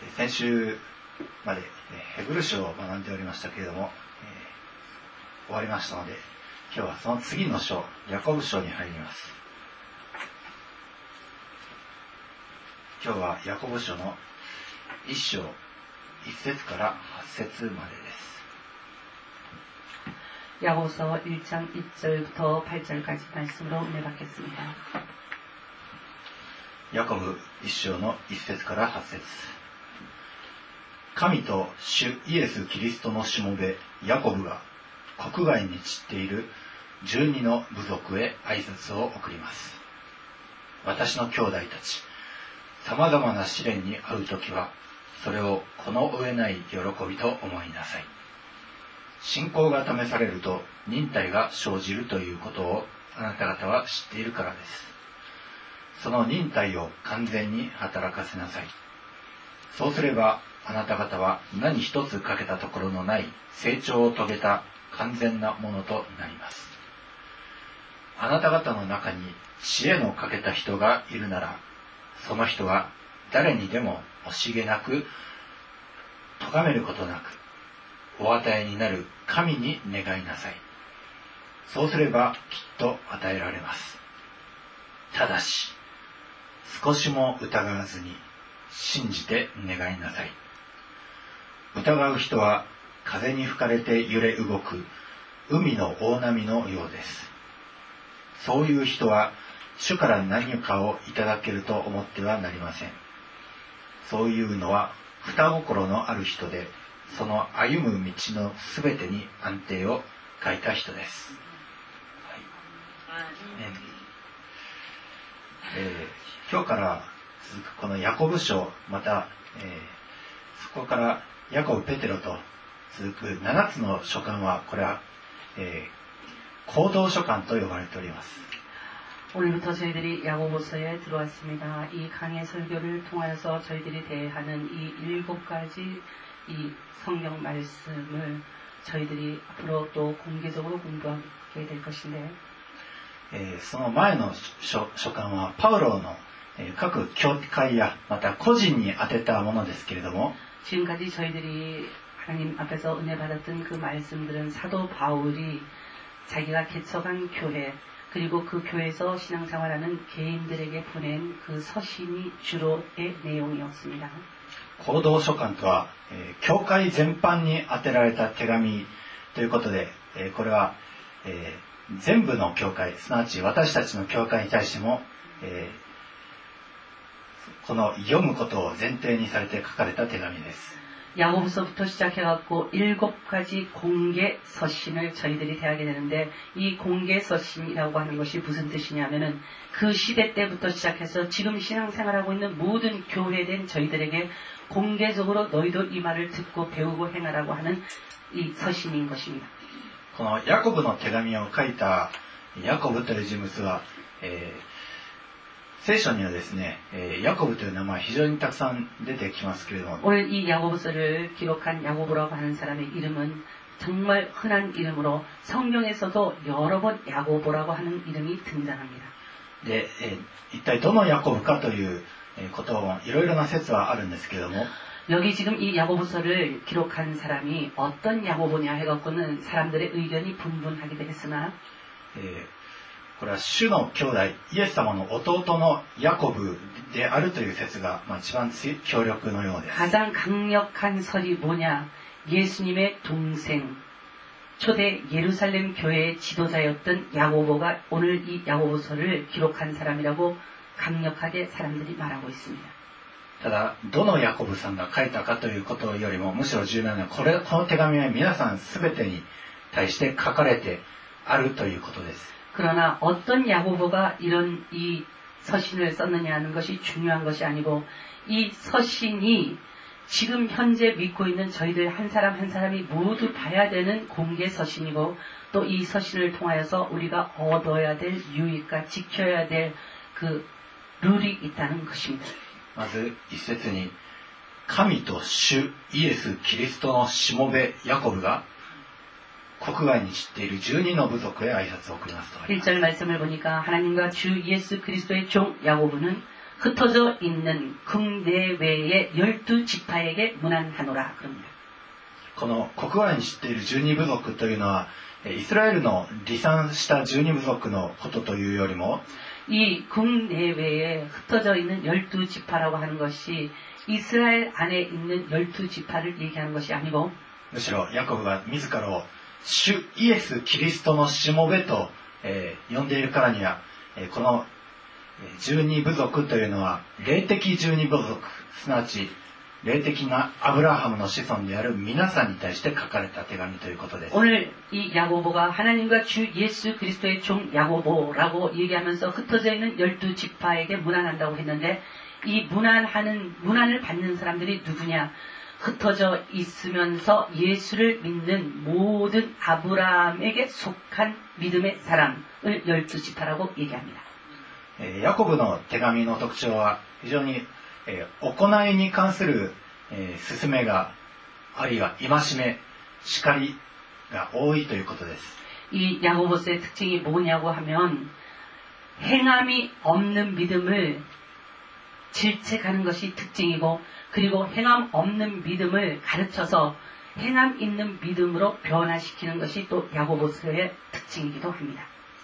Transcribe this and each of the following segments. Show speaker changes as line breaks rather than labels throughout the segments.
先週までヘブル書を学んでおりましたけれども、終わりましたので、今日はその次の書、ヤコブ書に入ります。今日はヤコブ書の1章1節から8節までです。
야고보서 1장 1절부터 8절까지 말씀으로 은혜 받겠습니다.
ヤコブ1章の1節から8節。神と主イエス・キリストのしもべヤコブが国外に散っている12の部族へ挨拶を送ります。私の兄弟たち、さまざまな試練に遭うときは、それをこの上ない喜びと思いなさい。信仰が試されると忍耐が生じるということをあなた方は知っているからです。その忍耐を完全に働かせなさい。そうすればあなた方は何一つ欠けたところのない成長を遂げた完全なものとなります。あなた方の中に知恵の欠けた人がいるなら、その人は誰にでも惜しげなく、咎めることなく、お与えになる神に願いなさい。そうすればきっと与えられます。ただし、少しも疑わずに信じて願いなさい。疑う人は風に吹かれて揺れ動く海の大波のようです。そういう人は主から何かをいただけると思ってはなりません。そういうのは双心のある人で、その歩む道のすべてに安定を欠いた人です。今日から続くこのヤコブ書、また、そこからヤコブ・ペテロと続く7つの書簡は、これは、行動書簡と呼ばれております。
오늘부터 저희들이 야고보서에 들어왔습니다. 이 강의 설교를 통하여서 저희들이 대하는 이 7가지 이 성경 말씀을 저희들이 앞으로 또 공개적으로 공부하게 될 것인데,
その前の書簡はパウロの各教会やまた個人に宛てたものですけれども、
지금까지 저희들이 하나님 앞에서 은혜 받았던 그 말씀들은 사도 바울이 자기가 개척한 교회, 그리고 그 교회에서 신앙생활하는 개인들에게 보낸 그 서신이 주로의 내용이었습니다.
行動書簡とは、教会全般に宛てられた手紙ということで、これは、全部の教会、すなわち私たちの教会に対しても、この読むことを前提にされて書かれた手紙です。
야고보서부터 시작해갖고 7가지 공개 서신을 저희들이 대하게 되는데, 이 공개 서신이라고 하는 것이 무슨 뜻이냐면은 그 시대 때부터 시작해서 지금 신앙생활하고 있는 모든 교회된 저희들에게 공개적으로 너희도 이 말을 듣고 배우고 행하라고 하는 이 서신인 것입니다.
このヤコブの手紙を書いたヤコブという人物は、聖書にはですね、ヤコブという名前非常にたくさん出てきますけれども、
오늘 이 야고보서를 기록한 야고보라고 하는 사람의 이름은 정말 흔한 이름으로 성경에서도 여러 번 야고보라고 하는 이름이 등장합니다.
で、一体どのヤコブかということもいろいろな説はあるんですけれども、
여기 지금 이 야고보서를 기록한 사람이 어떤 야고보냐 해갖고는 사람들의 의견이 분분하게 되겠으나,
これは主の兄弟イエス様の弟のヤコブであるという説が、一番強力のようです。
가장 강력한 설이 뭐냐, 예수님의 동생, 초대 예루살렘 교회의 지도자였던 야고보가 오늘 이 야고보서를 기록한 사람이라고 강력하게 사람들이 말하고 있습니다.
ただどのヤコブさんが書いたかということよりも、むしろ重要なのはこの手紙は皆さん全てに対して書かれてあるということです。
그러나 어떤 야고보가 이런 이 서신을 썼느냐 하는 것이 중요한 것이 아니고, 이 서신이 지금 현재 믿고 있는 저희들 한 사람 한 사람이 모두 봐야 되는 공개 서신이고, 또 이 서신을 통하여서 우리가 얻어야 될 유익과 지켜야 될 그 룰이 있다는 것입니다.
まず一節に、神と主イエス・キリストのしもべヤコブが国外に散っている12の部族へ挨拶を送りますとあります。
1절 말씀을 보니까 하나님과 주 예수 그리스도의 종 야고보는 흩어져 있는 국내외의 12지파에게 문안하노라 그럽니다.
この国外に知っている12部族というのは、イスラエルの離散した12部族のことというよりも、
이 국내외에 흩어져 있는 12지파라고 하는 것이 이스라엘 안에 있는 12지파를 얘기하는 것이 아니고
むしろヤコブが自らを主イエス・キリストのしもべと、呼んでいるからには、この12部族というのは霊的12部族、すなわち霊的なアブラハムの子孫である皆さんに対して書かれた手紙ということです。
오늘 이 야고보가 하나님과 주 예수 그리스도의 종 야고보라고 얘기하면서 흩어져 있는 12지파에게 문안한다고 했는데 이 문안을 받는 사람들이 누구냐? 흩어져 있으면서 예수를 믿는 모든 아브라함에게 속한 믿음의 사람을 12지파라고 얘기합니다.
ヤコブの手紙の特徴は非常に行いに関する勧めがあるいは戒め、叱りが多いということです。
이 야고보서의 특징이 뭐냐고 하면 행함이 없는 믿음을 질책하는 것이 특징이고 그리고 행함 없는 믿음을 가르쳐서 행함 있는 믿음으로 변화시키는 것이 또 야고보서의 특징이기도 합니다.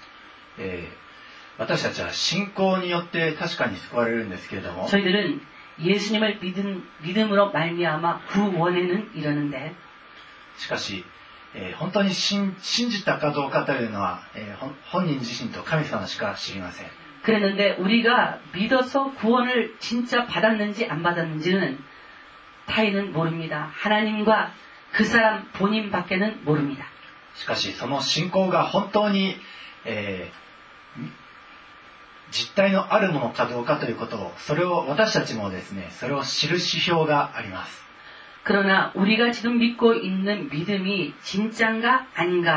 私たちは信仰によって確かに救われるんですけれども
저희들은 예수님을 믿음으로 말미암아 구원에는 이르는데
しかし、本当に信じたかどうかというのは、本人自身と神様しか知りません。
그랬는데 우리가 믿어서 구원을 진짜 받았는지 안 받았는지는 타인은 모릅니다. 하나님과 그 사람 본인밖에는 모릅니다.
しかしその信仰が本当に、実体のあるものかどうかということを、それを私たちもですね、それを知る指標があります。
그러나 우리가 지금 믿고 있는 믿음이 진짜인가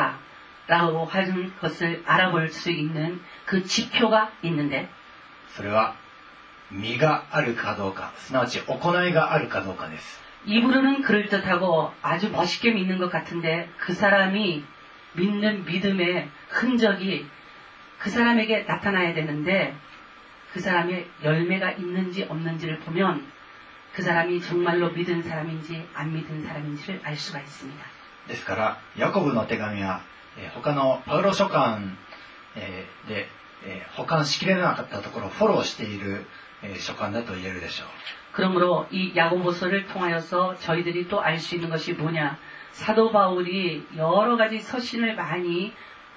아닌가라고 하는 것을 알아볼 수 있는 그 지표가 있는데
それは実があるかどうか、すなわち行いがあるかどうかです。
입으로는 그럴듯하고 아주 멋있게 믿는 것 같은데 그 사람이 믿는 믿음의 흔적이 그 사람에게 나타나야 되는데 그 사람의 열매가 있는지 없는지를 보면 그 사람이 정말로 믿은 사람인지 안 믿은 사람인지를 알 수가 있습니다.
ですからヤコブの手紙は、他のパウロ書簡、で、保管しきれなかったところをフォローしている、書簡だと言えるでしょう。
그러므로 이 야고보서를 통하여서 저희들이 또 알 수 있는 것이 뭐냐? 사도 바울이 여러 가지 서신을 많이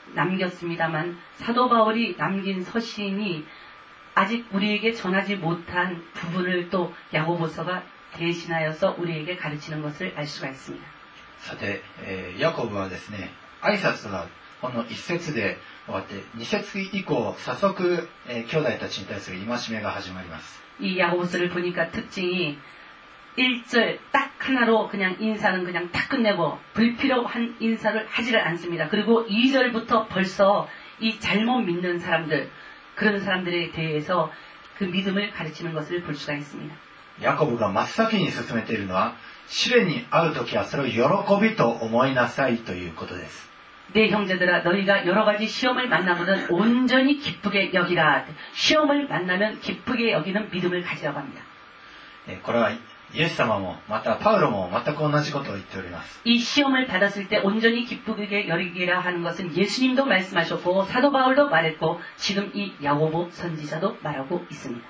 남겼습니다만 사도 바울이 남긴 서신이 아직 우리에게 전하지 못한 부분을 또 야고보서가 대신하여서 우리에게 가르치는 것을 알 수가 있습니다.
さて、ヤコブはですね、挨拶はこの1節で終わって2節以降早速、兄弟たちに対する戒めが始まります。
이 야고보서를 보니까 특징이 1절 딱 하나로 그냥 인사는 그냥 딱 끝내고 불필요한 인사를 하지를 않습니다. 그리고 2절부터 벌써 이 잘못 믿는 사람들 그런 사람들에 대해서 그 믿음을 가르치는 것을 볼 수가 있습니다.
ヤコブが真っ先に進めているのは試練に遭うときはそれを喜びと思いなさいということです。
내 형제들아 너희가 여러 가지 시험을 만나거든 온전히 기쁘게 여기라. 시험을 만나면 기쁘게 여기는 믿음을 가지라고 합니다.
これはイエス様もまたパウロも全く同じことを言っております。
이 시험을 받았을 때 온전히 기쁘게 여기라 하는 것은 예수님도 말씀하셨고 사도 바울도 말했고 지금 이 야고보 선지자도 말하고 있습니다.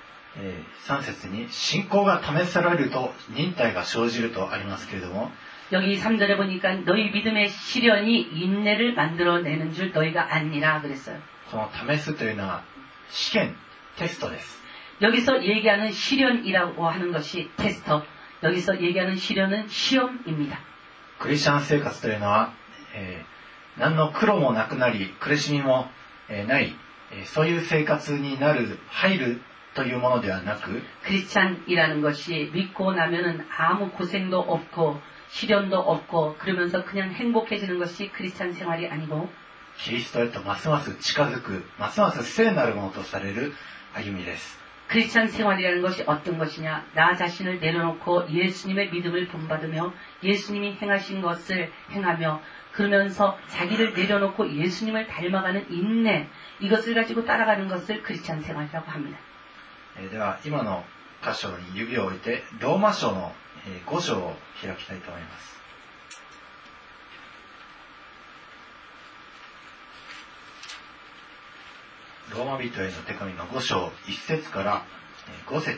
3節に信仰が試されると忍耐が生じるとありますけれども
여기 3절에 보니까 너희 믿음의 시련이 인내를 만들어내는 줄 너희가 아니라 그랬어요.
この試すというのは試験、テストです。
여기서 얘기하는 시련이라고 하는 것이 테스터, 여기서 얘기하는 시련은 시험입니다.
クリスチャン生活というのは、何の苦労もなくなり苦しみも、ない、そういう生活に入るというものではなく
크리스찬이라는 것이 믿고 나면은 아무 고생도 없고 시련도 없고 그러면서 그냥 행복해지는 것이 크리스찬 생활이 아니고
キリストへとますます近づく、ますます聖なるものとされる歩みです。
크리스찬 생활이라는 것이 어떤 것이냐? 나 자신을 내려놓고 예수님의 믿음을 본받으며 예수님이 행하신 것을 행하며 그러면서 자기를 내려놓고 예수님을 닮아가는 인내 이것을 가지고 따라가는 것을 크리스찬 생활이라고 합니다.
では今の箇所に指を置いてローマ書の5章を開きたいと思います。ローマ人への手紙の5章1節から5節まで。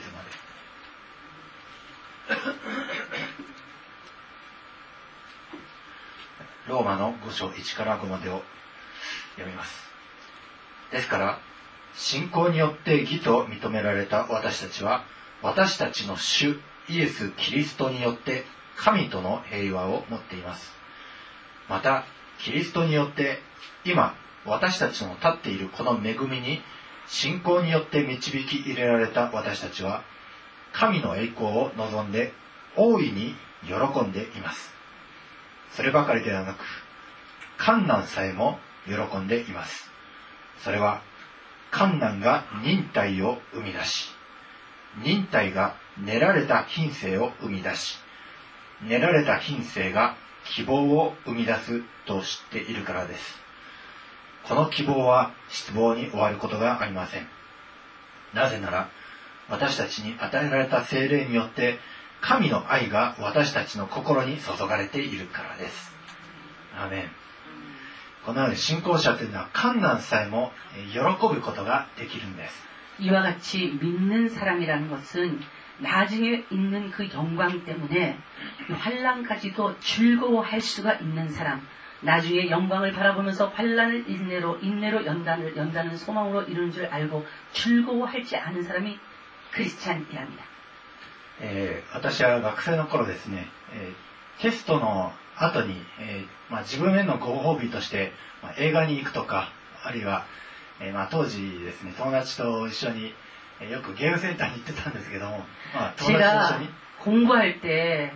ローマの5章1から5までを読みます。ですから信仰によって義と認められた私たちは、私たちの主イエス・キリストによって神との平和を持っています。またキリストによって今私たちの立っているこの恵みに信仰によって導き入れられた私たちは、神の栄光を望んで大いに喜んでいます。そればかりではなく、患難さえも喜んでいます。それは患難が忍耐を生み出し、忍耐が練られた品性を生み出し、練られた品性が希望を生み出すと知っているからです。この希望は失望に終わることがありません。なぜなら私たちに与えられた聖霊によって神の愛が私たちの心に注がれているからです。アーメン。このように信仰者というのは困難さえも喜ぶことができるんです。
이와 같이 믿는 사람이라는 것은 나중에 있는 그 영광 때문에 환난까지도 즐거워할 수가 있는 사람, 나중에 영광을 바라보면서 환난을 인내로 연다는 소망으로 이루는 줄 알고 즐거워하지 않은 사람이 크리스찬이랍니다.
私は学生の頃ですね、テストの後に、自分へのご褒美として、映画に行くとか、あるいは、当時ですね、友達と一緒に、よくゲームセンターに行ってたんですけども、友達と一緒に
공부할 때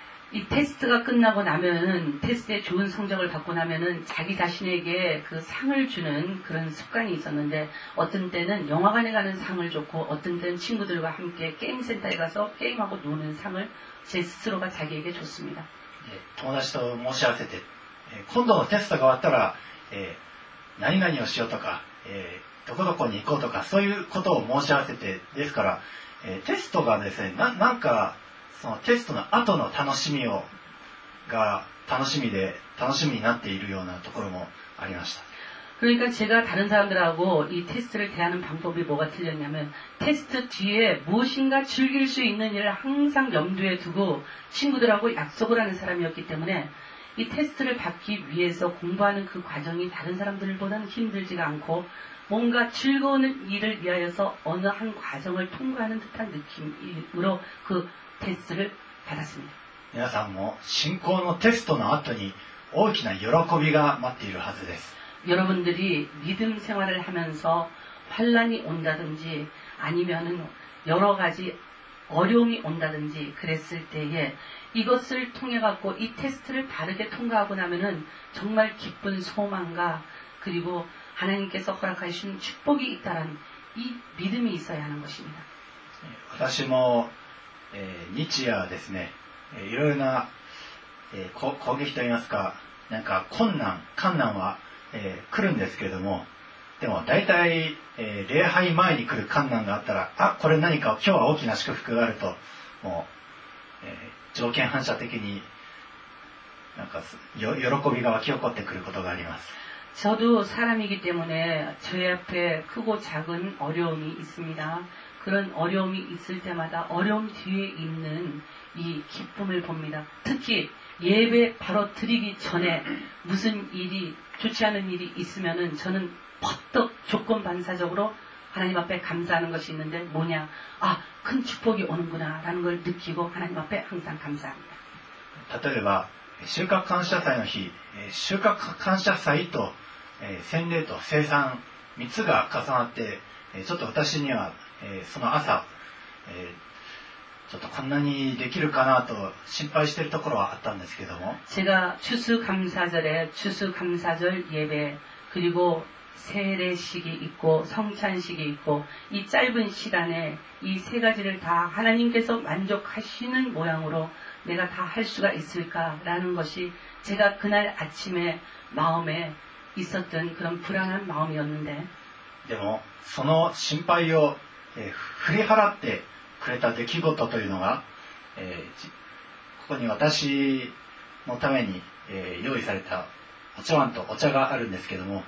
이 테스트가 끝나고 나면 테스트에 좋은 성적을 받고 나면은 자기 자신에게 그 상을 주는 그런 습관이 있었는데, 어떤 때는 영화관에 가는 상을 줬고 어떤 때는 친구들과 함께 게임 센터에 가서 게임하고 노는 상을 제 스스로가 자기에게 줬습니다.
友達と申し合わせて、今度のテストが終わったら、何々をしようとか、どこどこに行こうとか、そういうことを申し合わせて、ですから、テストがですね、なんかそのテストの後の楽しみが楽しみになっているようなところもありました。
그러니까 제가 다른 사람들하고 이 테스트를 대하는 방법이 뭐가 틀렸냐면, 테스트 뒤에 무엇인가 즐길 수 있는 일을 항상 염두에 두고 친구들하고 약속을 하는 사람이었기 때문에 이 테스트를 받기 위해서 공부하는 그 과정이 다른 사람들보다는 힘들지가 않고 뭔가 즐거운 일을 위하여서 어느 한 과정을 통과하는 듯한 느낌으로 그 테스트를 받았습니다.
皆さんも信仰のテストの後に大きな喜びが待っているはずです。
여러분들이 믿음 생활을 하면서 환난이 온다든지 아니면은 여러 가지 어려움이 온다든지 그랬을 때에 이것을 통해 갖고 이 테스트를 바르게 통과하고 나면은 정말 기쁜 소망과 그리고 하나님께서 허락하신 축복이 있다라는 이 믿음이 있어야 하는 것입니다.
私も、日夜ですね、いろいろな、攻撃といいますか、なんか困難は、来るんですけれども、でも大体、礼拝前に来る困難があったら、これ何か今日は大きな祝福があると、もう、条件反射的になんか喜びが湧き起こってくることがあります。
저도 사람이기 때문에 저희 앞에 크고 작은 어려움이 있습니다. 그런 어려움이 있을 때마다 어려움 뒤에 있는 이 기쁨을 봅니다. 특히 예배 바로 드리기 전에 무슨 일이 좋지 않은 일이 있으면은 저는 퍼뜩 조건 반사적으로 하나님 앞에 감사하는 것이 있는데, 뭐냐, 큰 축복이 오는구나 라는 걸 느끼고 하나님 앞에 항상 감사합니다.
例えば収穫感謝祭の日、収穫感謝祭と洗礼と聖餐3つが重なって、ちょっと私にはその朝、ちょっとこんなにできるかなと心配しているところはあったんですけども、
제가 추수감사절에 추수감사절 예배, 그리고 세례식이 있고 성찬식이 있고 이 짧은 시간에 이 세 가지를 다 하나님께서 만족하시는 모양으로 내가 다 할 수가 있을까라는 것이 제가 그날 아침에 마음에 있었던 그런 불안한 마음이었는데,
でもその心配を振り払ってくれた出来事というのが、ここに私のために、用意されたお茶碗とお茶があるんですけども、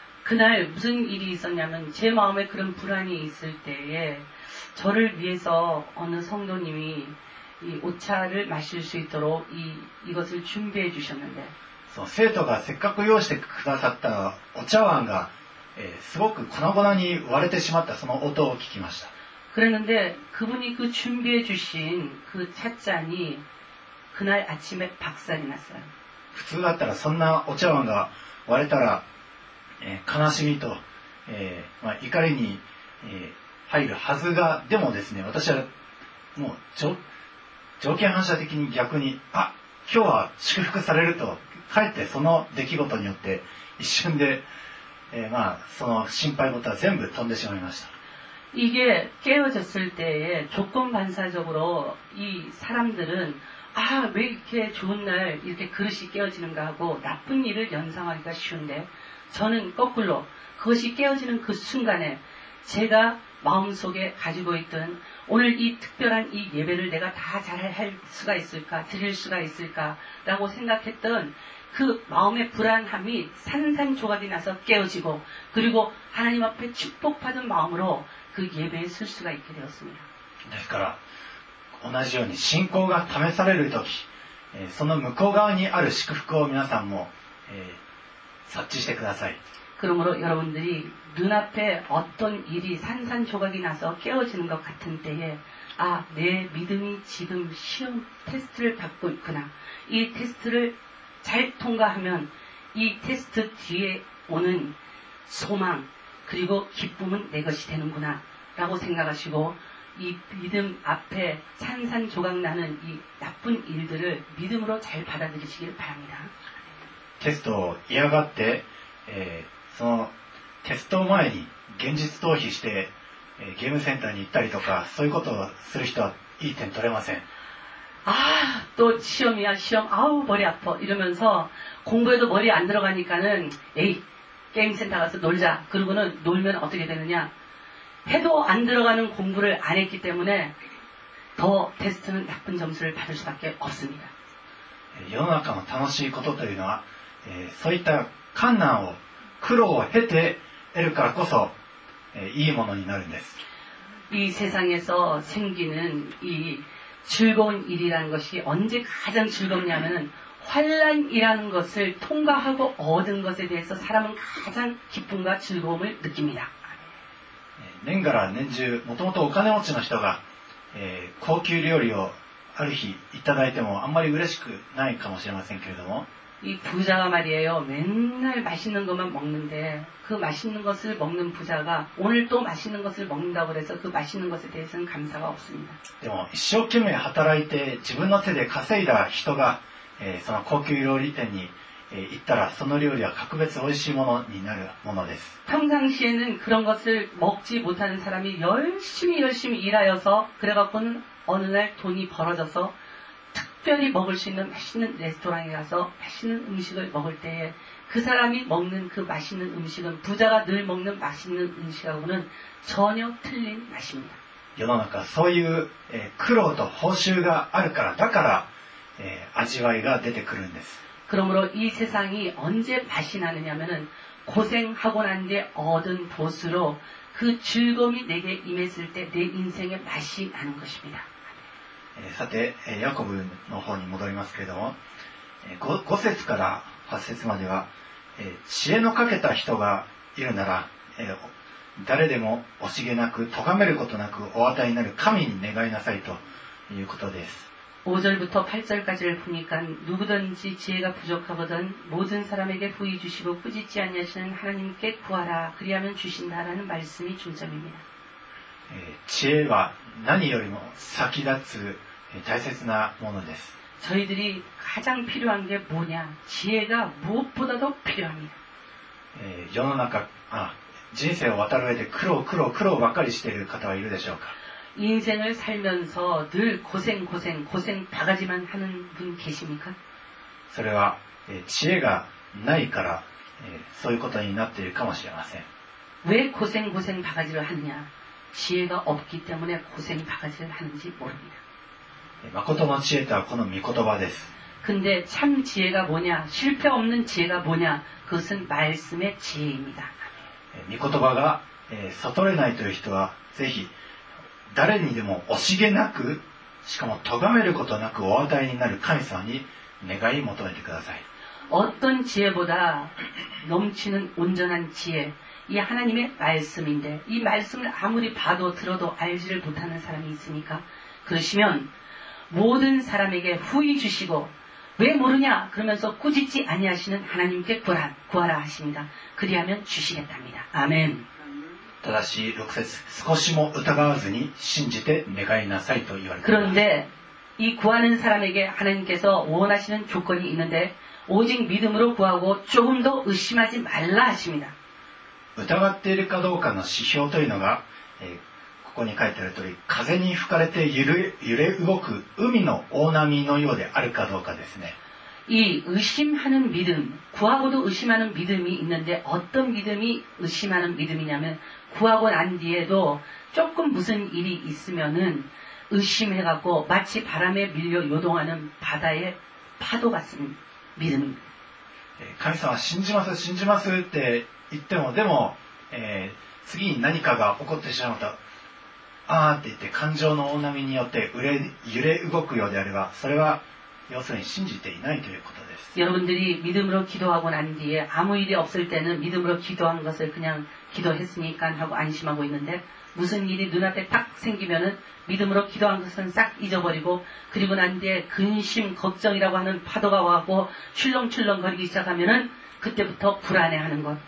그날 무슨 일이 있었냐면 제 마음에 그런 불안이 있을 때에 저를 위해서 어느 성도님이 이 오차를 마실 수 있도록 이것을 준비해 주셨는데,
その生徒がせっかく用意してくださったお茶碗が、すごく粉々に割れてしまったその音を聞きました。
그랬는데 그분이 그 준비해 주신 그 찻잔이 그날 아침에 박살이 났어요.
普通だったらそんなお茶碗が割れたら、悲しみと、怒りに、入るはずが、でもですね、私はもう条件反射的に逆に、今日は祝福されると、かえってその出来事によって一瞬で、その心配事は全部飛んでしまいました。
이게 깨어졌을 때에 조건 반사적으로 이 사람들은 왜 이렇게 좋은 날 이렇게 그릇이 깨어지는가 하고 나쁜 일을 연상하기가 쉬운데, 저는 거꾸로 그것이 깨어지는 그 순간에 제가 마음속에 가지고 있던 오늘 이 특별한 이 예배를 내가 다 잘 할 수가 있을까, 드릴 수가 있을까라고 생각했던 그 마음의 불안함이 산산조각이 나서 깨어지고, 그리고 하나님 앞에 축복받은 마음으로 그 예배에 쓸 수가 있게 되었습니다.
ですから同じように信仰が試されるとき、その向こう側にある祝福を皆さんも、察知してください。
그러므로 여러분들이 눈앞에 어떤 일이 산산조각이 나서 깨어지는 것 같은 때에 내 믿음이 지금 시험 테스트를 받고 있구나. 이 테스트를 잘 통과하면 이 테스트 뒤에 오는 소망 그리고 기쁨은 내 것이 되는구나 라고 생각하시고, 이 믿음 앞에 산산조각 나는 이 나쁜 일들을 믿음으로 잘 받아들이시길 바랍니다.
テストを嫌がって、そのテスト前に現実逃避して、ゲームセンターに行ったりとか、そういうことをする人はいい点取れません。
또 시험이야 시험, 머리 아파 이러면서 공부에도 머리 안 들어가니까는 게임센터 가서 놀자. 그러고는 놀면 어떻게 되느냐, 해도 안 들어가는 공부를 안 했기 때문에 더 테스트는 나쁜 점수를 받을 수밖에 없습니다.
世の中の楽しいことというのは、そういった困難を苦労を経て得るからこそ、いいものになるんです。
이 세상에서 생기는 이 즐거운 일이라는 것이 언제 가장 즐겁냐면은 환란이라는 것을 통과하고 얻은 것에 대해서 사람은 가장 기쁨과 즐거움을 느낍니다.
年がら年中もともとお金持ちの人が、高級料理をある日いただいてもあんまり嬉しくないかもしれませんけれども、
이 부자가 말이에요. 맨날 맛있는 것만 먹는데 그 맛있는 것을 먹는 부자가 오늘 또 맛있는 것을 먹는다고 해서 그 맛있는 것에 대해서는 감사가 없습니다.
でも一生懸命働いて自分の手で稼いだ人が、その高級料理店に、行ったらその料理は格別美味しいものになるものです。
평상시에는 그런 것을 먹지 못하는 사람이 열심히 일하여서 그래갖고는 어느 날 돈이 벌어져서 특별히 먹을 수 있는 맛있는 레스토랑에 가서 맛있는 음식을 먹을 때에 그 사람이 먹는 그 맛있는 음식은 부자가 늘 먹는 맛있는 음식하고는 전혀 틀린 맛입니다.
世の中そういう、苦労と報酬があるから、だから、味わいが出てくるんです。
그러므로 이 세상이 언제 맛이 나느냐면은 고생하고 난 뒤에 얻은 보수로 그 즐거움이 내게 임했을 때 내 인생의 맛이 나는 것입니다.
さて、ヤコブの方に戻りますけれども、5節から8節までは、知恵のかけた人がいるなら、誰でも惜しげなく咎めることなくお与えになる神に願いなさいということです。
5절부터 8절까지를 보니까 누구든지 지혜가 부족하거든 모든 사람에게 부이 주시고 꾸짖지 아니하시는 하나님께 구하라 그리하면 주신다라는 말씀이 중점입니다.
知恵は何よりも先立つ大切なものです。
저희들이 가장 필요한 게 뭐냐? 지혜가 무엇보다도 필요합니다.
世の中、人生を渡る上で苦労ばっかりしている方はいるでしょうか。
인생을 살면서 늘 고생 바가지만 하는 분 계십니까?
それは、知恵がないから、そういうことになっているかもしれません。
왜 고생 바가지를 하느냐? 지혜가 없기 때문에 고생 바가지를 하는지 모릅니다.
誠の知恵とはこの御言葉です。
근데 참 지혜가 뭐냐? 실패 없는 지혜가 뭐냐? 그것은 말씀의 지혜입니다.
御言葉が悟れないという人はぜひ誰にでも惜しげなく、しかも咎めることなくお与えになる神様に願い求めてください。
어떤 지혜보다 넘치는 온전한 지혜, 이 하나님의 말씀인데 이 말씀을 아무리 봐도 들어도 알지를 못하는 사람이 있으니까 그러시면 모든 사람에게 후히 주시고 왜 모르냐 그러면서 꾸짖지 아니하시는 하나님께 구하라 하십니다. 그리하면 주시겠답니다. 아멘.
ただし6節少しも疑わずに信じて願いなさいと言われています。
그런데 이 구하는 사람에게 하나님께서 원하시는 조건이 있는데 오직 믿음으로 구하고 조금 더 의심하지 말라 하십니다.
疑っているかどうかの指標というのが、ここに書いてある通り風に吹かれて揺れ動く海の大波のようであるかどうかですね。
이 의심하는 믿음, 구하고도 의심하는 믿음이 있는데 어떤 믿음이 의심하는 믿음이냐면 구하고 난 뒤에도 조금 무슨 일이 있으면은 의심해갖고 마치 바람에 밀려 요동하는 바다의 파도 같은 믿음입니다.
神様信じます信じますって言ってもでも、次に何かが起こってしまうとあーって言って感情の大波によって揺れ動くようであればそれは要するに信じていないということです。
여러분들이 믿음으로 기도하고 난 뒤에 아무 일이 없을 때는 믿음으로 기도한 것을 그냥 기도했으니까 하고 안심하고 있는데 무슨 일이 눈앞에 딱 생기면은 믿음으로 기도한 것은 싹 잊어버리고 그리고 난 뒤에 근심, 걱정이라고 하는 파도가 와고 출렁출렁 거리기 시작하면은 그때부터 불안해하는 것.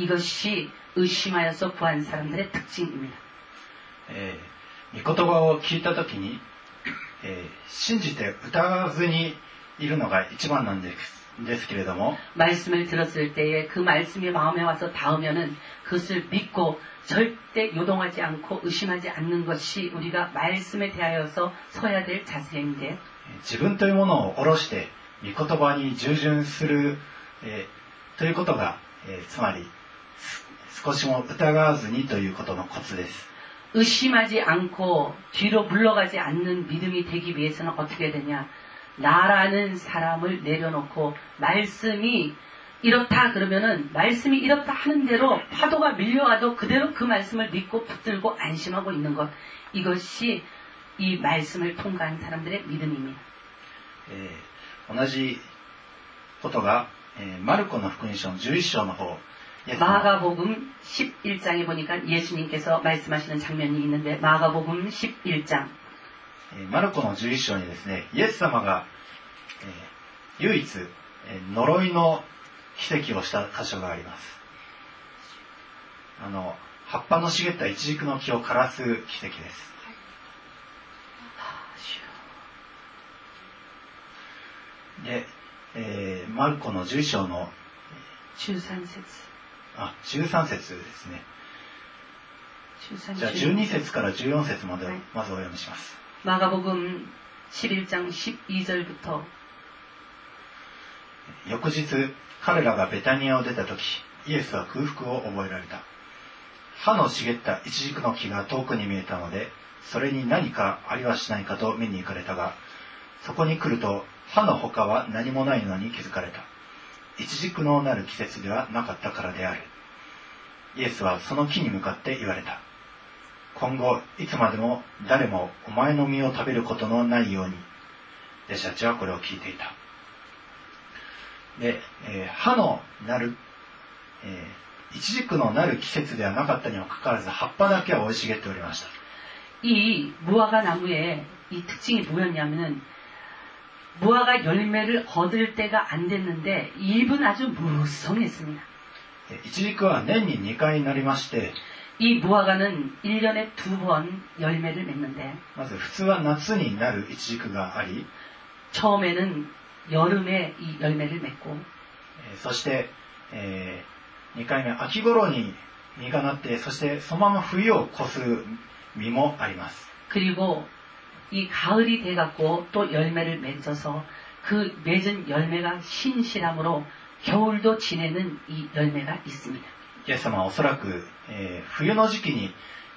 이것이 의심하여서 구한 사람들의 특징입니다.
御言葉を聞いたときに、信じて疑わずにいるのが一番なんですけれども
말씀을 들었을 때에 그 말씀이 마음에 와서 닿으면은 그것을 믿고 절대 요동하지 않고 의심하지 않는 것이 우리가 말씀에 대하여서 서야 될 자세인데
自分というものを下ろして御言葉に従順する、ということが、つまり少しも疑わずにということのコツです。
의심하지 않고 뒤로 물러가지 않는 믿음이 되기 위해서는 어떻게 되냐? 나라는 사람을 내려놓고 말씀이 이렇다 그러면은 말씀이 이렇다 하는 대로 파도가 밀려와도 그대로 그 말씀을 믿고 붙들고 안심하고 있는 것. 이것이 이 말씀을 통과한 사람들의 믿음입니다.
同じことが、マルコの福音書の11章の方
마가복음 11장에 보니까 예수님께서 말씀하시는 장면이 있는데 마가복음 11장
マルコの11章にですねイエス様が、唯一、呪いの奇跡をした箇所があります。葉っぱの茂ったイチジクの木を枯らす奇跡です。で、マルコの11章の
13節
13節ですね。じゃあ12節から14節までをまずお読みします。
마가복음 11장 12절부터
翌日彼らがベタニアを出た時イエスは空腹を覚えられた。葉の茂ったイチジクの木が遠くに見えたのでそれに何かありはしないかと見に行かれたがそこに来ると葉の他は何もないのに気づかれた。イチジクのなる季節ではなかったからである。イエスはその木に向かって言われた。今後いつまでも誰もお前の実を食べることのないように。弟子たちはこれを聞いていた。で、葉のなる、イチジクのなる季節ではなかったにもかかわらず葉っぱだけは生い茂っておりました。
이 무화과 나무의 이 특징이 뭐였냐면은 무화과 열매를 얻을 때가 안 됐는데 잎은 아주 무성했습니다.
イチジクは年に2回になりまして
이 무화과는 1년에 2번 열매를 맺는데
まず普通は夏になるイチジクがあり
처음에는 여름에 이 열매를 맺고
そして、2回目秋頃に実がなってそしてそのまま冬を越す実もあります。
그리고 이 가을이 돼갖고 또 열매를 맺어서 그 맺은 열매가 신실함으로 겨울도 지내는 이 열매가 있습니다.
イエス様はおそらく、冬の時期に、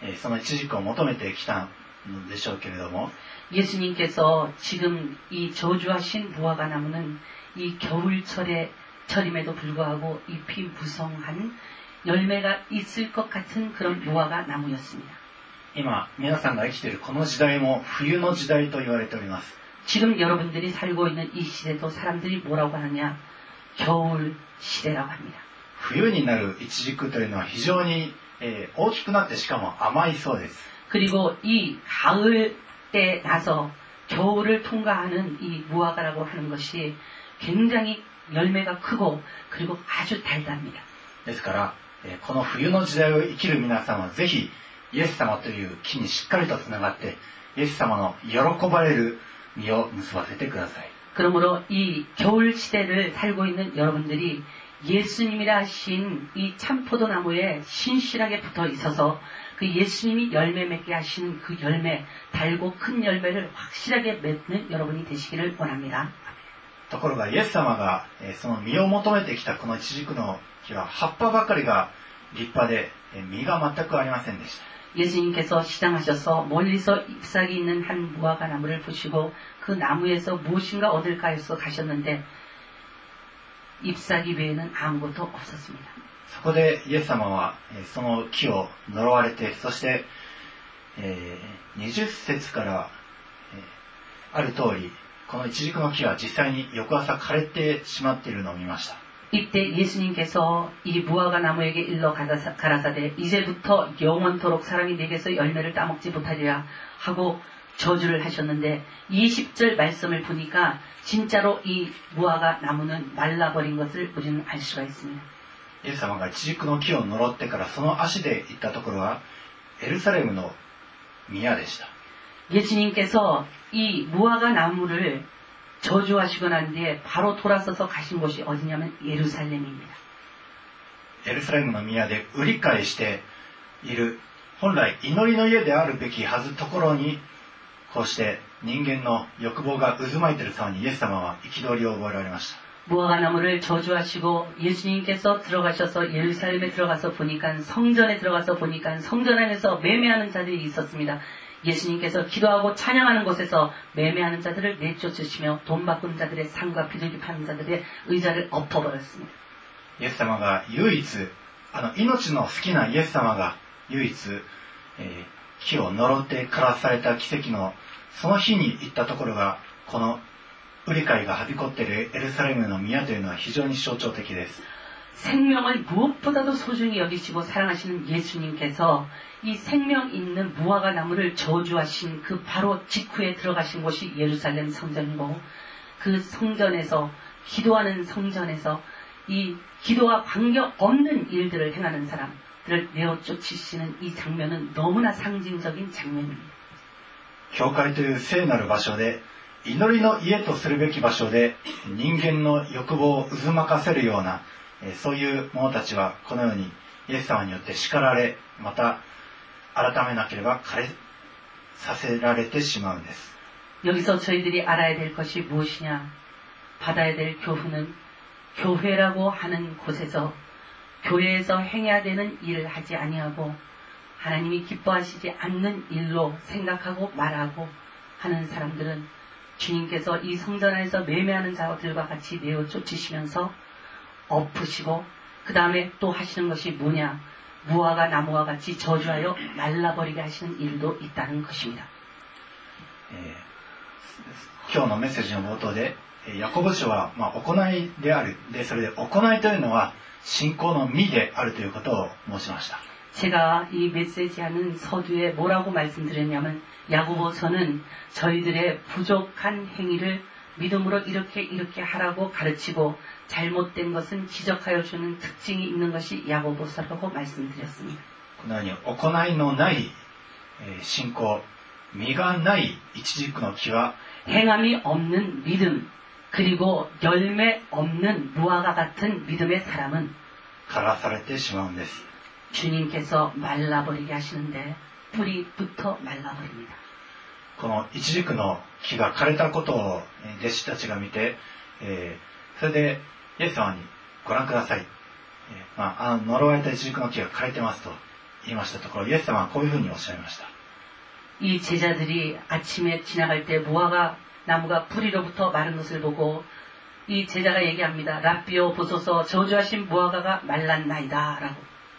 そのイチジクを求めてきたのでしょうけれども、
예수님께서 지금 이 저주하신 무화과 나무는 이 겨울철의 철임에도 불구하고 잎이 무성한 열매가 있을 것 같은 그런 무화과 나무였습니다.
今皆さんが生きているこの時代も冬の時代と言われております。
지금 여러분들이 살고 있는 이 시대도 사람들이 뭐라고 하느냐? 겨울 시대라고 합니다.
冬になるイチジクというのは非常に、大きくなってしかも甘いそうです。
그리고 이 가을 때 나서 겨울을 통과하는 이 무화과라고 하는 것이 굉장히 열매가 크고 그리고 아주 달답니다.
ですから、この冬の時代を生きる皆さんはぜひイエス様という木にしっかりとつながってイエス様の喜ばれる実を結ばせてください。
그러므로 이 겨울 시대를 살고 있는 여러분들이 예수님이라 하신 이 참포도나무에 신실하게 붙어 있어서 그 예수님이 열매 맺게 하시는 그 열매, 달고 큰 열매를 확실하게 맺는 여러분이 되시기를 원합니다.
ところがイエス様がその実を求めてきたこのイチジクの木は葉っぱばかりが立派で実が全くありませんでした。
예수님께서 시장하셔서 멀리서 잎사귀 있는 한 무화과 나무를 보시고 그 나무에서 무엇인가 얻을까 해서 가셨는데 잎사귀 외에는 아무것도 없었습니다.
そこでイエス様はその木を呪われて、そして20節からある通りこのイチジクの木は実際に翌朝枯れてしまっているのを見ました。
이때 예수님께서 이 무화과 나무에게 일러 가라사대 이제부터 영원토록 사람이 내게서 열매를 따먹지 못하리라 하고 저주를 하셨는데 20절 말씀을 보니까 진짜로 이 무화과 나무는 말라버린 것을 우리는 알 수가 있습니다.
イエス様がイチジクの木を呪ってからその足で行ったところはエルサレムの宮でした。
예수님께서 이 무화과 나무를 저주하시고 난 뒤에 바로 돌아서서 가신 곳이 어디냐면 예루살렘입니다.
エルサレムの宮で売り買いしている本来祈りの家であるべきはずところにこうして人間の欲望が渦巻いている様にイエス様は憤りを覚えられました。
무화과 나무를 저주하시고 예수님께서 들어가셔서 예루살렘에 들어가서 보니까 성전에 들어가서 보니까 성전 안에서 매매하는 자들이 있었습니다. 예수님께서 기도하고 찬양하는 곳에서 매매하는 자들을 내쫓으시며 돈 바꾸는 자들의 상과 비둘기 파는 자들의 의자를 엎어버렸습니다.
イエス様が唯一命の好きなイエス様が唯一、木を呪って枯らされた奇跡のその日に行ったところがこの売り買いがはびこっているエルサレムの宮というのは非常に象徴的です。
생명을 무엇보다도 소중히 여기시고 사랑하시는 예수님께서 이 생명 있는 무화과 나무를 저주하신 그 바로 직후에 들어가신 곳이 예루살렘 성전이고 그 성전에서 기도하는 성전에서 이 기도와 관계없는 일들을 행하는 사람들을 내어 쫓으시는 이 장면은 너무나 상징적인 장면입니다.
教会という聖なる場所で祈りの家とするべき場所で人間の欲望を渦巻かせるようなそういう者たちはこのようにイエス様によって叱られまた改めなければ枯れさせられてしまうんです。
여기서 저희들이 알아야 될 것이 무엇이냐? 받아야 될 교훈은 교회라고 하는 곳에서 교회에서 행해야 되는 일을 하지 아니하고 하나님이 기뻐하시지 않는 일로 생각하고 말하고 하는 사람들은 주님께서 이 성전 안에서 매매하는 자들과 같이 내어 쫓으시면서 엎으시고 그 다음에 또 하시는 것이 뭐냐? 무화과 나무와 같이 저주하여 말라버리게 하시는 일도 있다는 것입니다.
今日のメッセージの冒頭でヤコブ書は行いであるでそれで行いというのは信仰の実であるということを申しました。
제가 이 메시지하는 서두에 뭐라고 말씀드렸냐면 야고보서는 저희들의 부족한 행위를 믿음으로 이렇게 하라고 가르치고 잘못된 것은 지적하여 주는 특징이 있는 것이 야고보서라고 말씀드렸습니다.
このように行いのない信仰、実がないイチジクの木は
행함이 없는 믿음 그리고 열매 없는 무화과 같은 믿음의 사람은
枯らされてしまうんです。
주님께서 말라버리게 하시는데 뿌리부터 말라버립니다.
このイチジクの木が枯れたことを弟子たちが見て、それでイエス様にご覧ください、呪われたイチジクの木が枯れてますと言いましたところ、イエス様はこういうふうにおっしゃいました。
이 제자들이 아침에 지나갈 때 무화과 나무가 뿌리로부터 마른 것을 보고 이 제자가 얘기합니다. 라비오 보소서 저주하신 무화과가 말랐나이다 라고.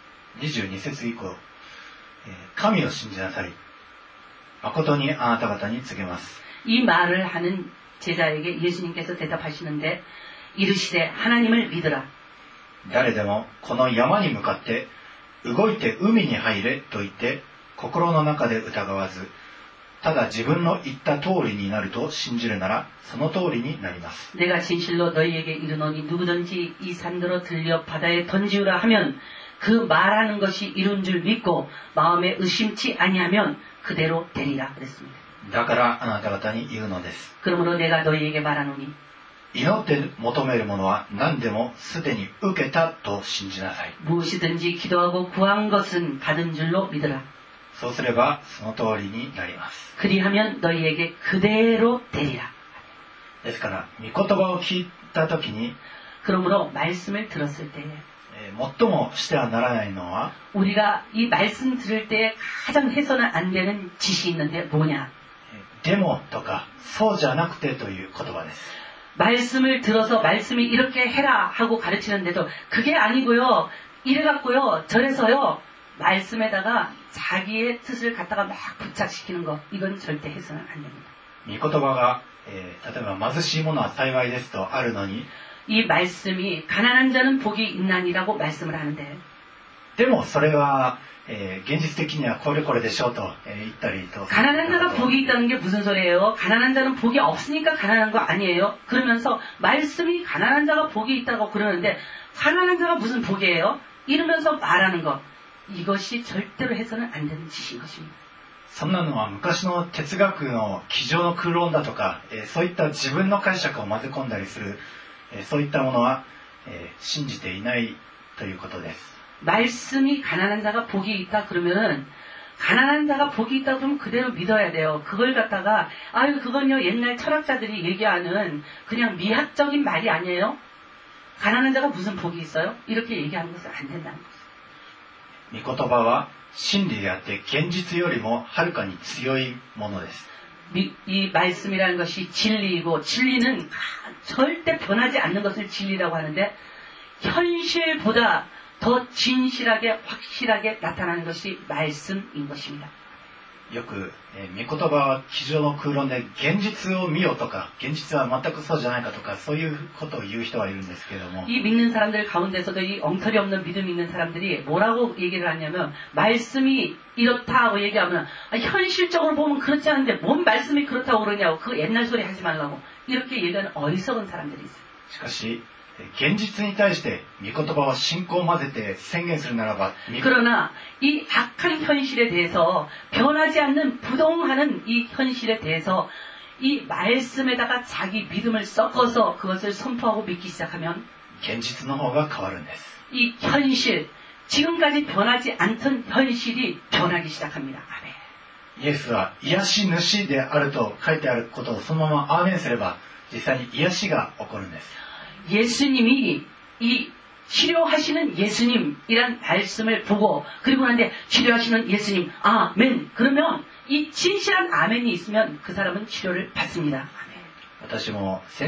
22節以降、神を信じなさい。誠にあなた方に告げます。
이 말을 하는 제자에게 예수님께서 대답하시는데 이르시되 하나님을 믿으라.
誰でもこの山に向かって動いて海に入れと言って心の中で疑わず、ただ自分の言った通りになると信じるならその通りになります。
내가 진실로 너희에게 이르노니 누구든지 이 산더러 들려 바다에 던지우라 하면 그 말하는 것이 이룬 줄 믿고 마음에 의심치 아니하면 그대로 되리라 그랬습니다.
だからあなた方に言うのです。
그러므로 내가 너희에게 말하노니
祈って求めるものは何でもすでに受けたと信じなさい。
무엇이든지 기도하고 구한 것은 받은 줄로 믿으라.
そうすればその通りになります。
그리하면 너희에게 그대로 되리라.
ですから御言葉を聞いた時に
그러므로 말씀을 들었을 때에
最もしてはならないのは
우리가 이 말씀 들을 때에 가장 해서는 안 되는 짓이 있는데 뭐냐?
でもとかそうじゃなくてという言葉です。
말씀을 들어서 말씀이 이렇게 해라 하고 가르치는데도 그게 아니고요. 이래갖고요. 저래서요. 말씀에다가 자기의 뜻을 갖다가 막 부착시키는 거. 이건 절대 해서는 안 됩니다.
御言葉が、例えば貧しいものは幸いですとあるのに
이 말씀이 가난한 자는 복이 있나니라고 말씀을 하는데
でもそれは、現実的にはこれこれでしょうと、言ったりと
가난한 자가 복이 있다는 게 무슨 소리예요? 가난한 자는 복이 없으니까 가난한 거 아니에요? 그러면서 말씀이 가난한 자가 복이 있다고 그러는데 가난한 자가 무슨 복이에요? 이러면서 말하는 것. 이것이 절대로 해서는 안 되는 짓인 것입니다.
そんなのは昔の哲学の机上の空論だとか、そういった自分の解釈を混ぜ込んだりする、そういったものは、信じていないということです。
말씀이 가난한 자가 복이 있다 그러면은 가난한 자가 복이 있다 그러면 그대로 믿어야 돼요. 그걸 갖다가 아유 그건요 옛날 철학자들이 얘기하는 그냥 미학적인 말이 아니에요. 가난한 자가 무슨 복이 있어요? 이렇게 얘기하는 것은 안 된다는 거죠.
御言葉は真理であって現実よりもはるかに強いものです。
이 말씀이라는 것이 진리이고 진리는 절대 변하지 않는 것을 진리라고 하는데 현실보다 더 진실하게 확실하게 나타나는 것이 말씀인 것입니다.
よく、御言葉は机上の空論で現実を見よとか現実は全くそうじゃないかとかそういうことを言う人がいるんですけれども
이 믿는 사람들 가운데서도 이 엉터리 없는 믿음 있는 사람들이 뭐라고 얘기를 하냐면 말씀이 이렇다고 얘기하면 현실적으로 보면 그렇지 않은데 뭔 말씀이 그렇다고 그러냐고 그 옛날 소리 하지 말라고 이렇게 얘기하는 어리석은 사람들이 있어요.
しかし現実に対して御言葉は信仰を混ぜて宣言するならば
그러나 이 악한 현실에 대해서 변하지 않는 부동하는 이 현실에 대해서 이 말씀에다가 자기 믿음을 섞어서 그것을 선포하고 믿기 시작하면
現実の方が変わるんです。
이 현실 지금까지 변하지 않던 현실이 변하기 시작합니다. 아멘.
イエスは癒し主であると書いてあることをそのままアーメンすれば実際に癒しが起こるんです。
예수님이 이 치료하시는 예수님이란 말씀을 보고 그리고 난데 치료하시는 예수님 아멘 그러면 이 진실한 아멘이 있으면 그 사람은 치료를 받습니다. 아멘.
私も先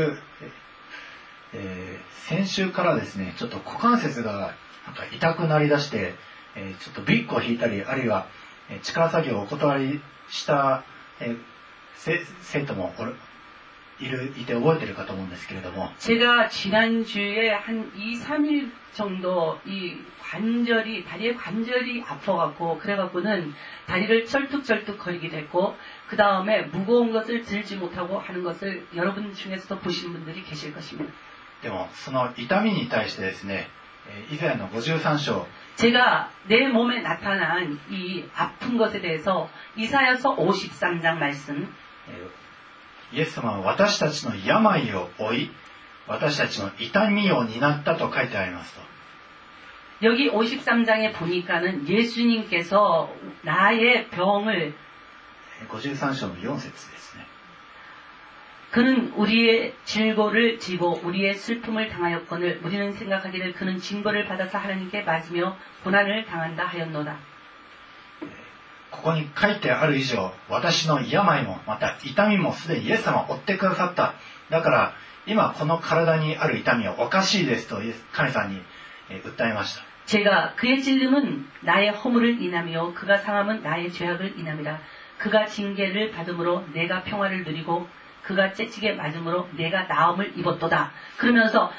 週からですねちょっと股関節がなんか痛くなりだして、ちょっとビッグを引いたりあるいは力作業をお断りした、生徒もいて覚えてるかと思うんですけれども
제가 지난주에 한 2, 3일 정도 이 관절이 다리의 관절이 아파갖고 그래갖고는 다리를 쩔뚝쩔뚝 거리기도 했고 그 다음에 무거운 것을 들지 못하고 하는 것을 여러분 중에서도 보신 분들이 계실 것입니다.
でもその痛みに対してですねイザヤの53章
제가 내 몸에 나타난 이 아픈 것에 대해서 이사야서 53장 말씀
イエス様は私たちの病を負い私たちの痛みを担ったと書いてありますと
여기 53장에 보니까는 예수님께서 나의 병을
53章の4節ですね
그는 우리의 질고를 지고 우리의 슬픔을 당하였거늘 우리는 생각하기를 그는 징벌을 받아서 하나님께 맞으며 고난을 당한다 하였노라.
ここに書いてある以上、私の病もまた痛みもすでにイエス様は負ってくださった。だから今この体にある痛みはおかしいですと神様に訴えました。
제가 그의 찔림은 나의 허물을 인함이요 그가 상함은 나의 죄악을 인함이라. 그가 징계를 받음으로 내가 평화를 누리고 그가 채찍에 맞음으로 내가 나음을 입었도다. 그러면서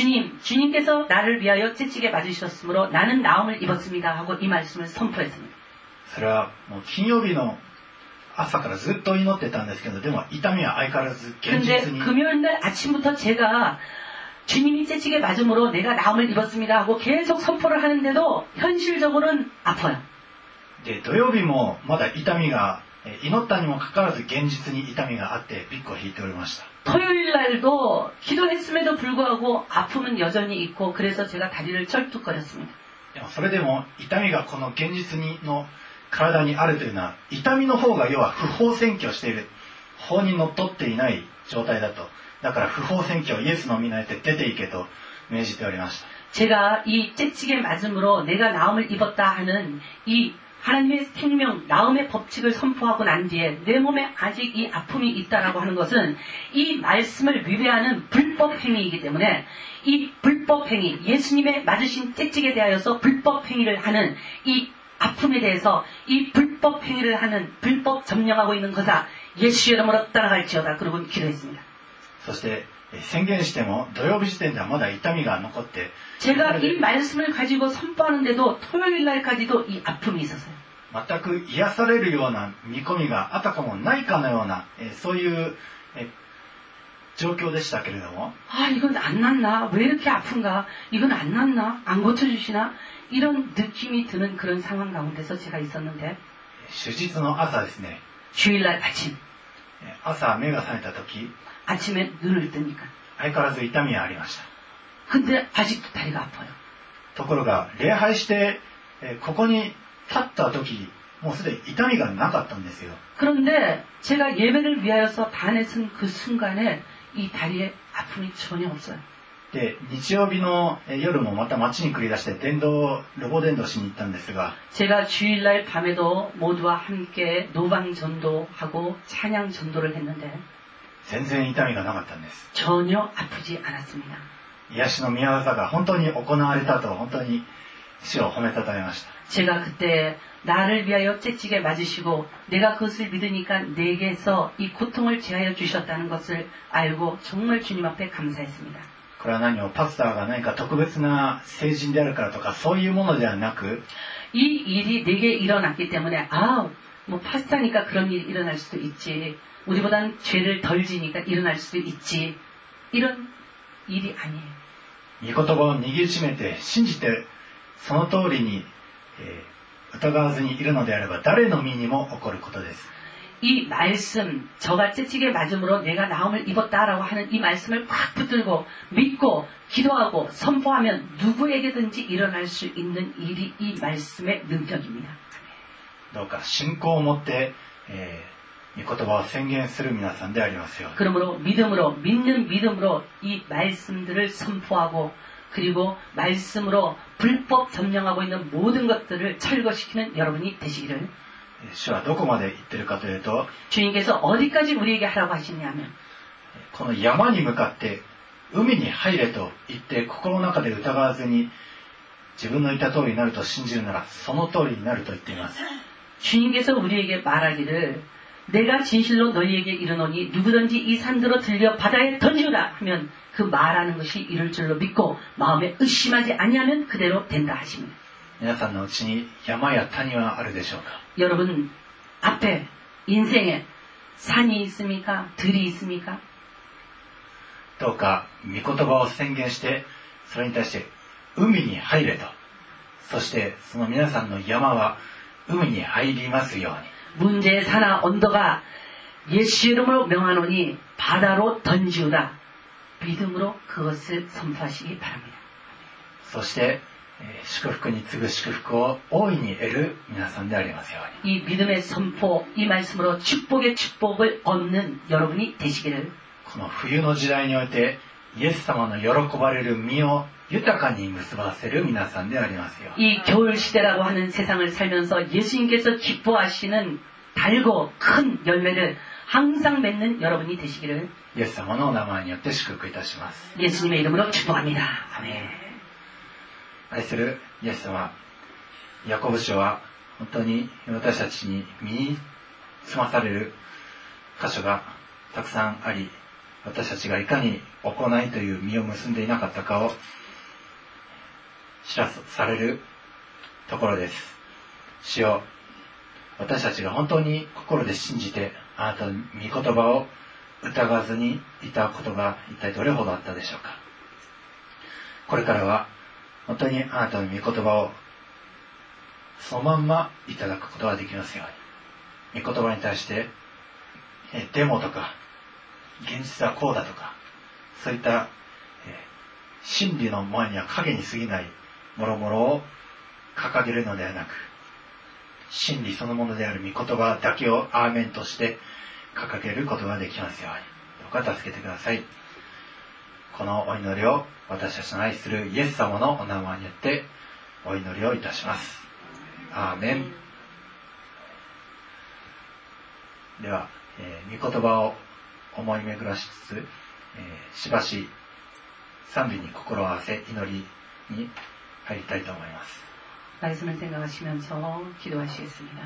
주님께서 나를 위하여 채찍에 맞으셨으므로 나는 나음을 입었습니다 하고 이 말씀을 선포했습니다.
それはもう金曜日の朝からずっと祈ってたんですけど、でも痛みは相変わらず現実に。
근데 금요일날 아침부터 제가 주님이 채찍에 맞음으로 내가 나음을 입었습니다 하고 계속 선포를 하는데도 현실적으로는 아파요.
で土曜日もまだ痛みが祈ったにもかかわらず現実に痛みがあってピッコを引いておりました。
토요일날도 기도했음에도 불구하고 아픔은 여전히 있고 그래서 제가 다리를 쩔뚝거렸습니다.
でもそれでも痛みがこの現実の体にあるというのは痛みの方が要は不法占拠している、法にのっとっていない状態だと。だから不法占拠イエスの皆によって出ていけと命じておりました。
제가 이 채찍에 맞음으로 내가 나음을 입었다 하는 이 하나님의 생명, 나음의 법칙을 선포하고 난 뒤에 내 몸에 아직 이 아픔이 있다라고 하는 것은 이 말씀을 위배하는 불법 행위이기 때문에 이 불법 행위, 예수님의 맞으신 채찍에 대하여서 불법 행위를 하는 이 아픔에 대해서 이 불법 행위를 하는 불법 점령하고 있는 거사 예수의 이름으로 떠나갈지어다. 그러고 기도했습니다.
そして宣言しても土曜日時点ではまだ痛みが残って
제가 이 말씀을 가지고 선포하는데도 토요일 날까지도 이 아픔이 있었어요.
全く癒されるような見込みがあたかもないかのようなそういう状況でしたけれども
아, 이건 안 낫나? 왜 이렇게 아픈가? 이건 안 낫나? 안 고쳐주시나? 이런 느낌이 드는 그런 상황 가운데서 제가 있었는데
手術の朝ですね
주일날 아침
朝目が覚めた時
아침에 눈을 뜨니까
相変わらず痛みはありました。
근데 아직도 다리가 아파요.
ところが礼拝してここに立った時もうすでに痛みがなかったんですよ。
그런데 제가 예배를 위하여서 단에 선 그 순간에 이 다리에 아픔이 전혀 없어요.
で日曜日の夜もまた街に繰り出してロボ伝道しに行ったんですが
제가 주일날 밤에도 모두와 함께 노방 전도하고 찬양 전도를 했는데
全然痛みがなかったんです。
전혀 아프지 않았습니다.
癒しの御業が本当に行われたと本当に主を褒めたたえました。
제가 그때 나를 위하여 채찍에 맞으시고 내가 그것을 믿으니까 내게서 이 고통을 제하여 주셨다는 것을 알고 정말 주님 앞에 감사했습니다.
これは何もパスターが何か特別な聖人であるからとかそういうものではなく
이 일이 내게 일어났기 때문에 뭐 파스타니까 그런 일이 일어날 수도 있지. 우리보다는 죄를 덜 지니까 일어날 수도 있지. 이런 일이 아니에요.
御言葉を握りしめて信じてその通りに、疑わずにいるのであれば誰の身にも起こることです。
이 말씀, 저가 채찍에 맞음으로 내가 나음을 입었다라고 하는 이 말씀을 확 붙들고 믿고 기도하고 선포하면 누구에게든지 일어날 수 있는 일이 이 말씀의 능력입니다.
どうか信仰を持って、御言葉を宣言する皆さんでありますように。
그러므로 믿는 믿음으로 이 말씀들을 선포하고 그리고 말씀으로 불법 점령하고 있는 모든 것들을 철거시키는 여러분이 되시기를
主はどこまで言ってるかというと
주님께서 어디까지 우리에게 하라고 하시냐면
この山に向かって海に入れと言って心の中で疑わずに自分の言った通りになると信じるならその通りになると言っています。
주님께서 우리에게 말하기를 내가 진실로 너희에게 이르노니 누구든지 이 산들로 들려 바다에 던지우라 하면 그 말하는 것이 이룰 줄로 믿고 마음에 의심하지 아니하면 그대로 된다 하십니다.
皆さんのうちに山や谷はあるでしょうか。
여러분 앞에 인생에 산이 있습니까? 들이 있습니까?
どうか御言葉を宣言してそれに対して海に入れと、そしてその皆さんの山は海に入りますように。
문제의 산하 언덕아 예수 이름으로 명하노니 바다로 던지우라. 믿음으로 그것을 선포하시기 바랍니다.
そして祝福に次ぐ祝福を大いに得る皆さんでありますように。
이 믿음의 선포, 이 말씀으로 축복의 축복을 얻는 여러분이 되시기를.
この冬の時代においてイエス様の喜ばれる実を豊かに結ばせる皆さんでありますよ。
이 겨울 시대라고 하는 세상을 살면서 예수님께서 기뻐하시는 달고 큰 열매를 항상 맺는 여러분이 되시기를
イエス様のお名前によって祝福いたします。
예수님의 이름으로 축복합니다. 아멘.
愛するイエス様、ヤコブ書は本当に私たちに身につまされる箇所がたくさんあり、私たちがいかに行いという実を結んでいなかったかを知らされるところです。主よ、私たちが本当に心で信じてあなたの御言葉を疑わずにいたことが一体どれほどあったでしょうか。これからは本当にあなたの御言葉をそのまんまいただくことができますように。御言葉に対してデモとか現実はこうだとか、そういった真理の前には影に過ぎないもろもろを掲げるのではなく、真理そのものである御言葉だけをアーメンとして掲げることができますように。どうか助けてください。このお祈りを私たちの愛するイエス様のお名前によってお祈りをいたします。アーメン。では、御言葉を思い巡らしつつ、しばし賛美に心を合わせ祈りに入りたいと思います。
말씀을 생각하시면서 기도하시겠습니다.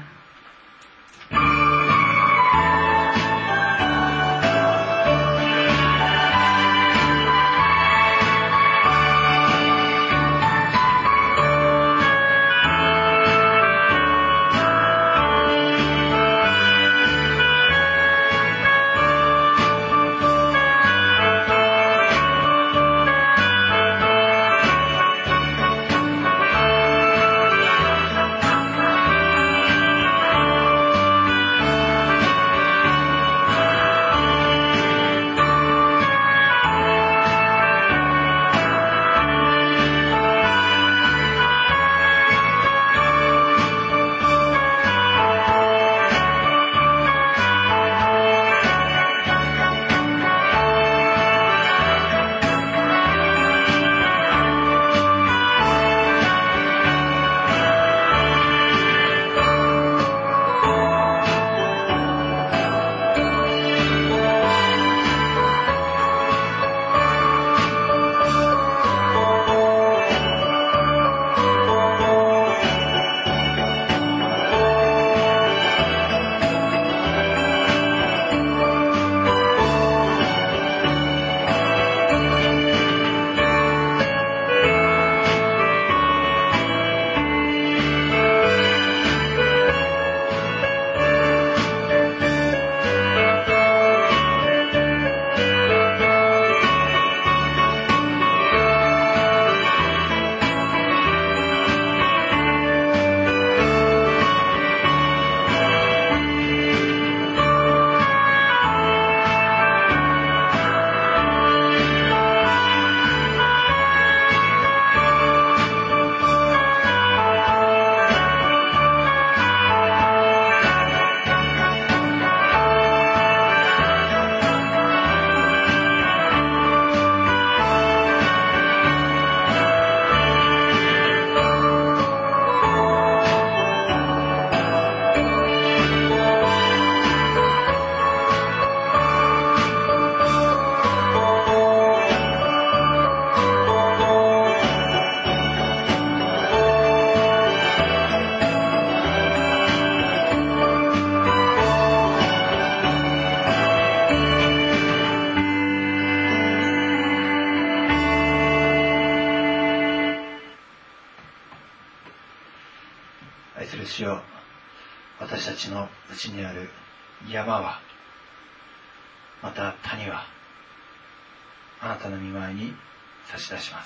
主よ、私たちのうちにある山はまた谷はあなたの御前に差し出します。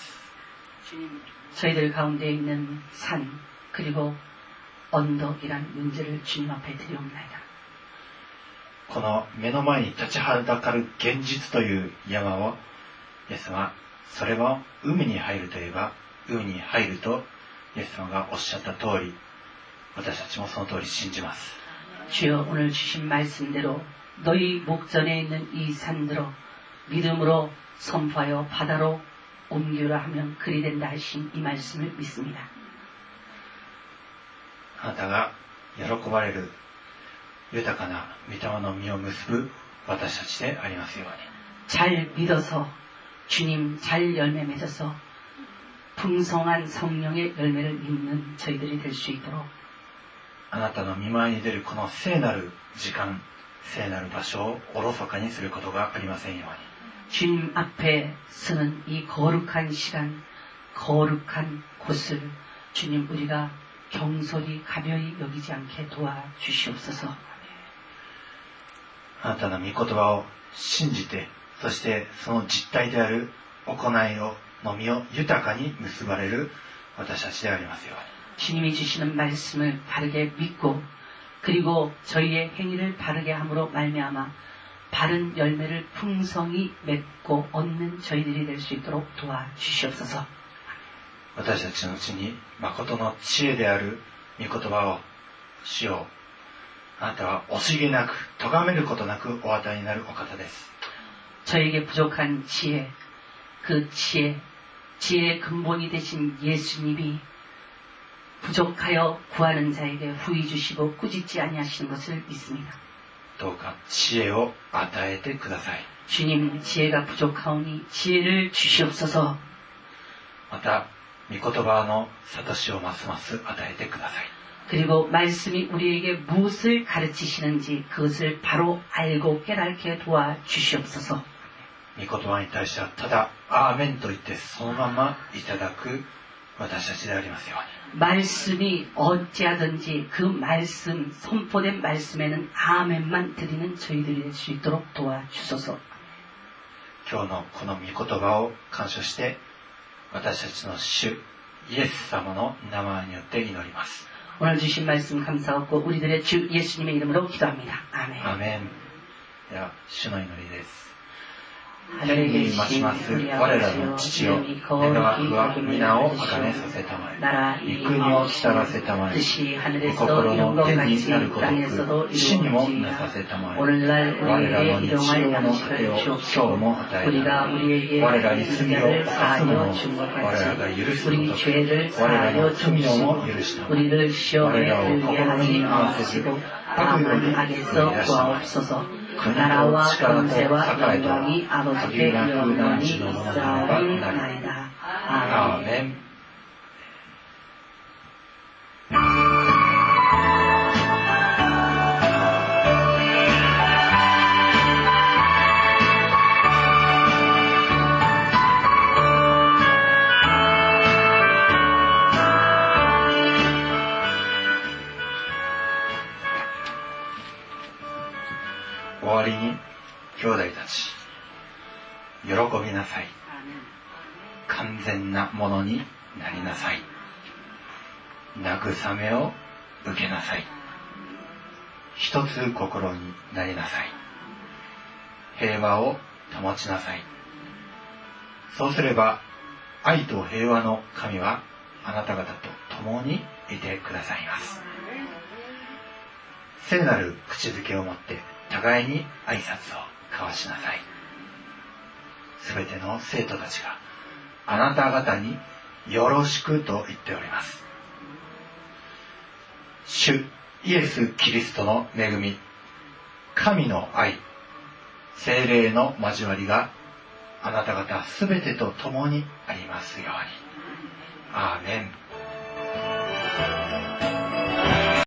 저희들 가운데 있는 산 그리고 언덕이란 문제를 주님 앞에 드리옵나이다.
この目の前に立ちはだかる現実という山を、イエス様、それは海に入るといえば海に入るとイエス様がおっしゃった通り、私たちもその通り信じます。
주여, 오늘 주신 말씀대로 너희 목전에 있는 이 산들어 믿음으로 선포하여 바다로 옮기라 하면 그리 된다 하신 이 말씀을 믿습니다.
あなたが喜ばれる豊かな御霊の実を結ぶ私たちでありますように。
잘 믿어서 주님 잘 열매 맺어서 풍성한 성령의 열매를 맺는 저희들이 될 수 있도록
あなたの御前に出るこの聖なる時間、聖なる場所をおろそかにすることがありませんように。
주님 앞에 서는 이 거룩한 시간, 거룩한 곳을 주님 우리가 경솔히 가벼이 여기지 않게 도와주시옵소서.
あなたの御言葉を信じて、そしてその実態である行いの実を豊かに結ばれる私たちでありますように。
주님이 주시는 말씀을 바르게 믿고 그리고 저희의 행위를 바르게 함으로 말미암아 바른 열매를 풍성히 맺고 얻는 저희들이 될 수 있도록 도와주시옵소서.
私たちのうちに誠の知恵である御言葉を主よ、あなたは惜しげなく咎めることなくお与えになるお方です。
저에게 부족한 지혜, 그 지혜의 근본이 되신 예수님이 부족하여 구하는 자에게 후히 주시고 꾸짖지 아니하시는 것을 믿습니다.
どうか知恵を与えてください。
주님 지혜가 부족하오니 지혜를 주시옵소서.
また御言葉の悟しをますます与えてください。
그리고 말씀이 우리에게 무엇을 가르치시는지 그것을 바로 알고 깨닫게 도와주시옵소서.
御言葉に対してはただアーメンと言ってそのままいただく私たちでありますように。
말씀이 어찌하든지 그 말씀, 선포된 말씀에는 아멘만 드리는 저희들이 될 수 있도록 도와주소서.
今日のこの御言葉を感謝して私たちの主イエス様の名前によって祈ります。
오늘 주신 말씀 감사하고 우리들의 주 예수님의 이름으로 기도합니다. 아멘.
アーメン。では主の祈りです。
하늘에
天に増し
계신
ます我
우리
らの
아버지여
父よ、
이름이
願わく
거룩히
は
여김을
皆をあ
받으시오.
がめさせたまえ。
나라
御国を来たらせたまえ。
뜻이
御
하늘에서
心
이룬
の
것
天に
같이
なるごと
땅에서도
く地にもな
이루어지이다.
させたまえ。
오늘날
我らの
우리에게
日
일용할
曜の糧
양식을
を今日
주옵시고
も与え
우리가
なさい。
우리에게
我らに罪を
죄를
犯す者
사하여
を
준 것
我らが
같이
許す
우리
ごとく
죄를
我ら
사하여
の罪をも
주옵시고
許したまえ。
우리를
我
시험에
らを
들게
試み
하지
に合わせず
마시고
悪よ
다만
り
악에서
逃げ出したまえ。
구하옵소서.
国と
나라와
力と
권세와
栄えと
영광이
限
아버지께
りなく
영원히
何時のものならばなり。
있사옵나이다.
ア
아멘.
ーメン。終わりに兄弟たち喜びなさい。完全なものになりなさい。慰めを受けなさい。一つ心になりなさい。平和を保ちなさい。そうすれば愛と平和の神はあなた方と共にいてくださいます。聖なる口づけをもって互いに挨拶を交わしなさい。すべての生徒たちがあなた方によろしくと言っております。主イエス・キリストの恵み、神の愛、聖霊の交わりがあなた方すべてと共にありますように。アーメン。